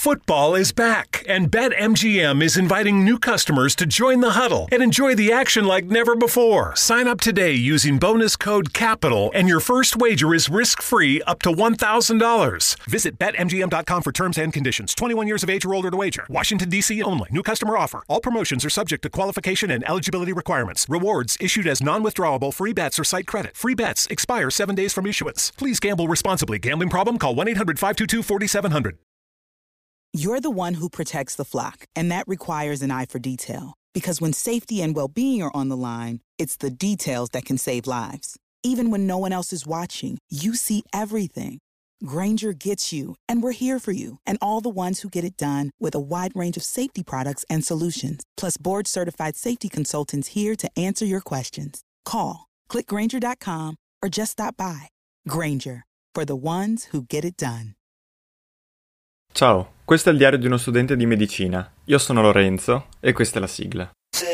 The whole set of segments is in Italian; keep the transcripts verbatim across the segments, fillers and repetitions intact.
Football is back, and BetMGM is inviting new customers to join the huddle and enjoy the action like never before. Sign up today using bonus code CAPITAL, and your first wager is risk-free up to one thousand dollars. Visit Bet M G M dot com for terms and conditions. twenty-one years of age or older to wager. Washington, D C only. New customer offer. All promotions are subject to qualification and eligibility requirements. Rewards issued as non-withdrawable free bets or site credit. Free bets expire seven days from issuance. Please gamble responsibly. Gambling problem? Call one eight hundred five two two four seven zero zero. You're the one who protects the flock, and that requires an eye for detail. Because when safety and well-being are on the line, it's the details that can save lives. Even when no one else is watching, you see everything. Grainger gets you, and we're here for you, and all the ones who get it done with a wide range of safety products and solutions, plus board-certified safety consultants here to answer your questions. Call, click Grainger dot com, or just stop by. Grainger, for the ones who get it done. Ciao, questo è il diario di uno studente di medicina. Io sono Lorenzo e questa è la sigla.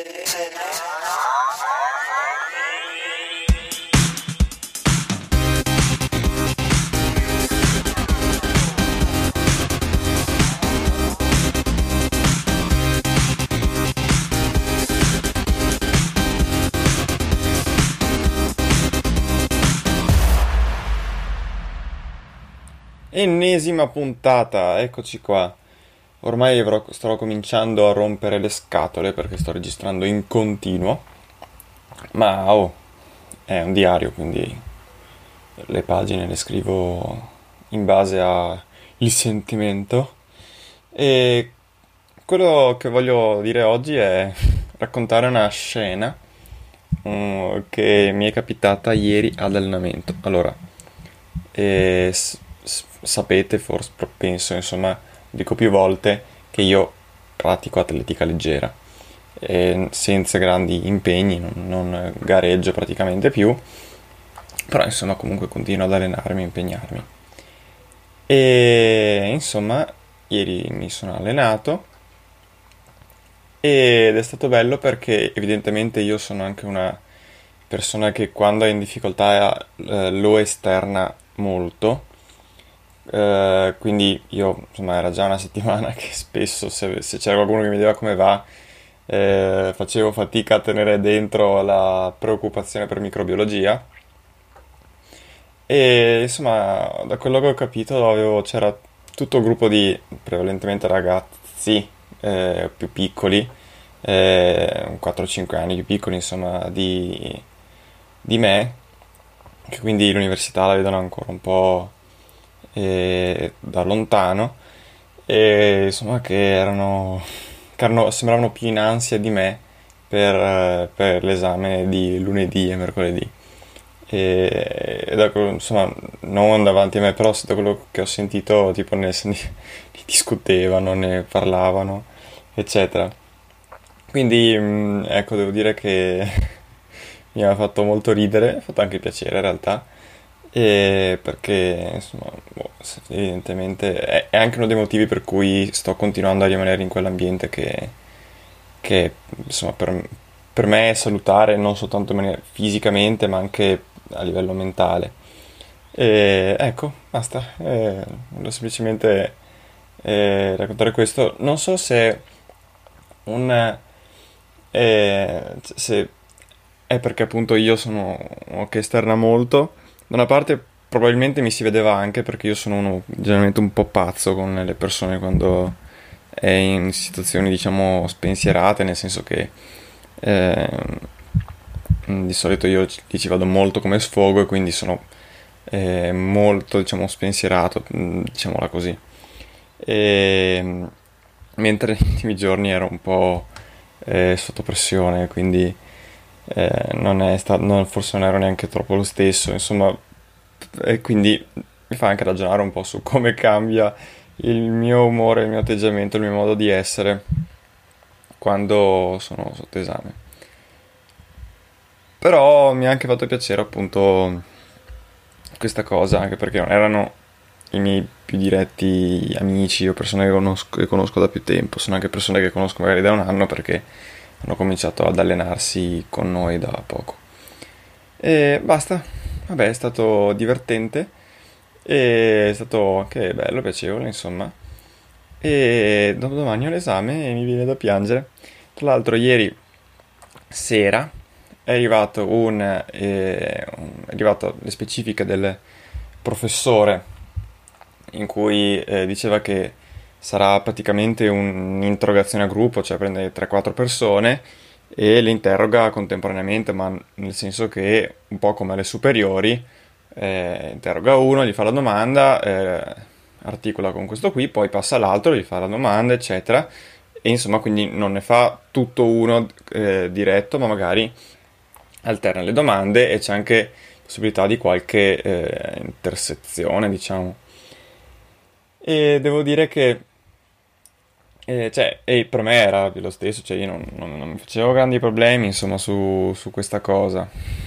Ennesima puntata, eccoci qua. Ormai avrò, starò cominciando a rompere le scatole perché sto registrando in continuo. Ma oh, è un diario, quindi le pagine le scrivo in base al sentimento. E quello che voglio dire oggi è raccontare una scena um, che mi è capitata ieri ad allenamento. Allora, e sapete, forse penso, insomma, dico più volte che io pratico atletica leggera e senza grandi impegni, non, non gareggio praticamente più, però insomma comunque continuo ad allenarmi, impegnarmi. E insomma ieri mi sono allenato ed è stato bello perché evidentemente io sono anche una persona che quando è in difficoltà eh, lo esterna molto. Uh, quindi io, insomma, era già una settimana che spesso se, se c'era qualcuno che mi chiedeva come va eh, facevo fatica a tenere dentro la preoccupazione per microbiologia e insomma da quello che ho capito avevo, c'era tutto un gruppo di prevalentemente ragazzi eh, più piccoli, eh, quattro cinque anni più piccoli insomma di, di me, che quindi l'università la vedono ancora un po' e da lontano e insomma che erano, che erano sembravano più in ansia di me per, per l'esame di lunedì e mercoledì e, e da, insomma non davanti a me, però da quello che ho sentito tipo ne, ne discutevano, ne parlavano eccetera, quindi ecco, devo dire che mi ha fatto molto ridere, ha fatto anche piacere in realtà. E perché insomma boh, evidentemente è, è anche uno dei motivi per cui sto continuando a rimanere in quell'ambiente che, che insomma per, per me è salutare non soltanto in maniera fisicamente ma anche a livello mentale. E ecco, basta, eh, volevo semplicemente eh, raccontare questo. Non so se un eh, se è perché appunto io sono uno che esterna molto. Da una parte probabilmente mi si vedeva anche perché io sono uno generalmente un po' pazzo con le persone quando è in situazioni diciamo spensierate, nel senso che eh, di solito io ci vado molto come sfogo e quindi sono eh, molto diciamo spensierato, diciamola così. E, mentre negli ultimi giorni ero un po' eh, sotto pressione, quindi Eh, non è stato, non, forse non ero neanche troppo lo stesso, insomma, e quindi mi fa anche ragionare un po' su come cambia il mio umore, il mio atteggiamento, il mio modo di essere quando sono sotto esame. Però mi ha anche fatto piacere appunto questa cosa, anche perché non erano i miei più diretti amici o persone che conosco, che conosco da più tempo, sono anche persone che conosco magari da un anno perché hanno cominciato ad allenarsi con noi da poco. E basta, vabbè, è stato divertente e è stato anche bello, piacevole, insomma. e dopodomani ho l'esame e mi viene da piangere. Tra l'altro ieri sera è arrivato un, eh, un è arrivato le specifiche del professore in cui eh, diceva che sarà praticamente un'interrogazione a gruppo, cioè prende tre quattro persone e le interroga contemporaneamente, ma nel senso che un po' come alle superiori, eh, interroga uno, gli fa la domanda, eh, articola con questo qui, poi passa all'altro, gli fa la domanda, eccetera, e insomma quindi non ne fa tutto uno eh, diretto, ma magari alterna le domande e c'è anche possibilità di qualche eh, intersezione, diciamo. E devo dire che eh, cioè, e per me era lo stesso, cioè io non, non- non mi facevo grandi problemi, insomma, su, su questa cosa.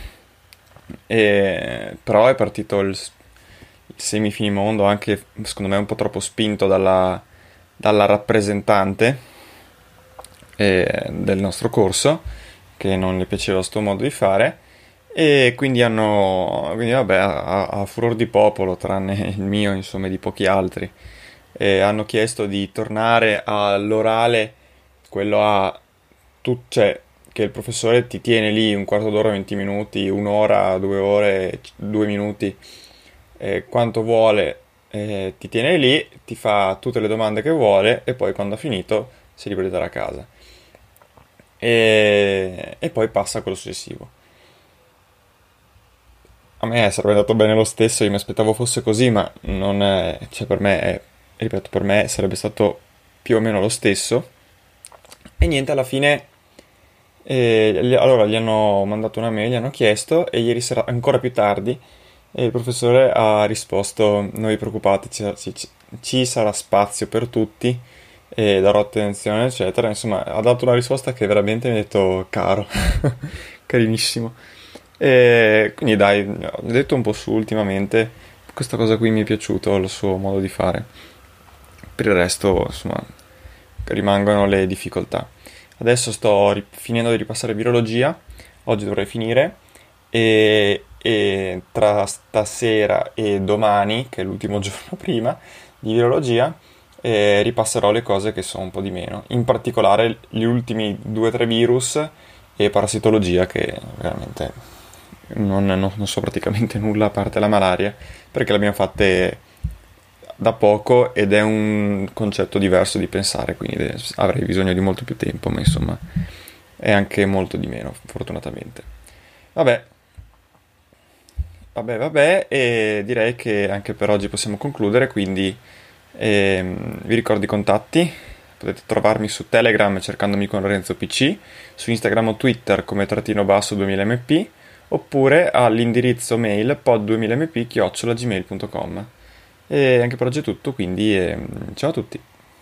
E, però è partito il, il semifinimondo anche, secondo me, un po' troppo spinto dalla, dalla rappresentante eh, del nostro corso, che non le piaceva sto modo di fare, e quindi hanno, quindi vabbè, a, a furor di popolo, tranne il mio, insomma, e di pochi altri, e hanno chiesto di tornare all'orale, quello a tu, cioè, che il professore ti tiene lì un quarto d'ora, venti minuti, un'ora, due ore, c- due minuti, eh, quanto vuole, eh, ti tiene lì, ti fa tutte le domande che vuole e poi quando ha finito si libera di andare a casa. E, e poi passa a quello successivo. A me sarebbe andato bene lo stesso, io mi aspettavo fosse così, ma non è, cioè per me, è- ripeto, per me sarebbe stato più o meno lo stesso. E niente, alla fine, eh, gli- allora gli hanno mandato una mail, gli hanno chiesto, e ieri sera, ancora più tardi, e il professore ha risposto: non vi preoccupate, ci, ci- ci sarà spazio per tutti, e darò attenzione, eccetera. Insomma, ha dato una risposta che veramente mi ha detto caro, carinissimo. E quindi dai, ho detto un po' su ultimamente, questa cosa qui mi è piaciuto, il suo modo di fare. Per il resto, insomma, rimangono le difficoltà. Adesso sto ri- finendo di ripassare virologia, oggi dovrei finire, e, e tra stasera e domani, che è l'ultimo giorno prima di virologia, eh, ripasserò le cose che so un po' di meno, in particolare gli ultimi due o tre virus e parassitologia, che veramente non, non- non so praticamente nulla a parte la malaria, perché l'abbiamo fatte da poco ed è un concetto diverso di pensare, quindi de- avrei bisogno di molto più tempo, ma insomma è anche molto di meno, fortunatamente. Vabbè, vabbè, vabbè, e direi che anche per oggi possiamo concludere, quindi ehm, vi ricordo i contatti. Potete trovarmi su Telegram cercandomi con Lorenzo P C, su Instagram o Twitter come trattino basso duemila m p, oppure all'indirizzo mail pod duemila m p chiocciola gmail punto com. E anche per oggi è tutto, quindi ehm, ciao a tutti.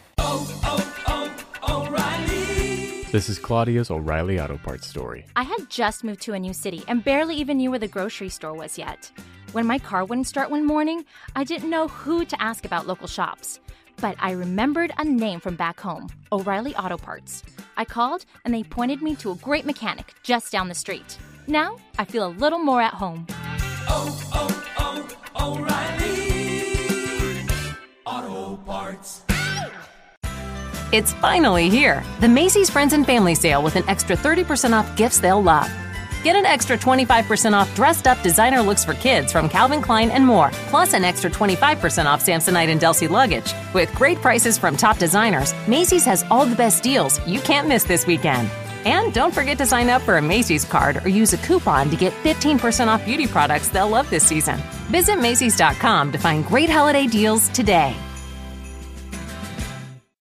This is Claudia's O'Reilly Auto Parts story. I had just moved to a new city and barely even knew where the grocery store was yet. When my car wouldn't start one morning, I didn't know who to ask about local shops. But I remembered a name from back home, O'Reilly Auto Parts. I called and they pointed me to a great mechanic just down the street. Now I feel a little more at home. It's finally here, the Macy's Friends and Family Sale with an extra thirty percent off gifts they'll love. Get an extra twenty-five percent off dressed-up designer looks for kids from Calvin Klein and more, plus an extra twenty-five percent off Samsonite and Delsey luggage. With great prices from top designers, Macy's has all the best deals you can't miss this weekend. And don't forget to sign up for a Macy's card or use a coupon to get fifteen percent off beauty products they'll love this season. Visit Macy's dot com to find great holiday deals today.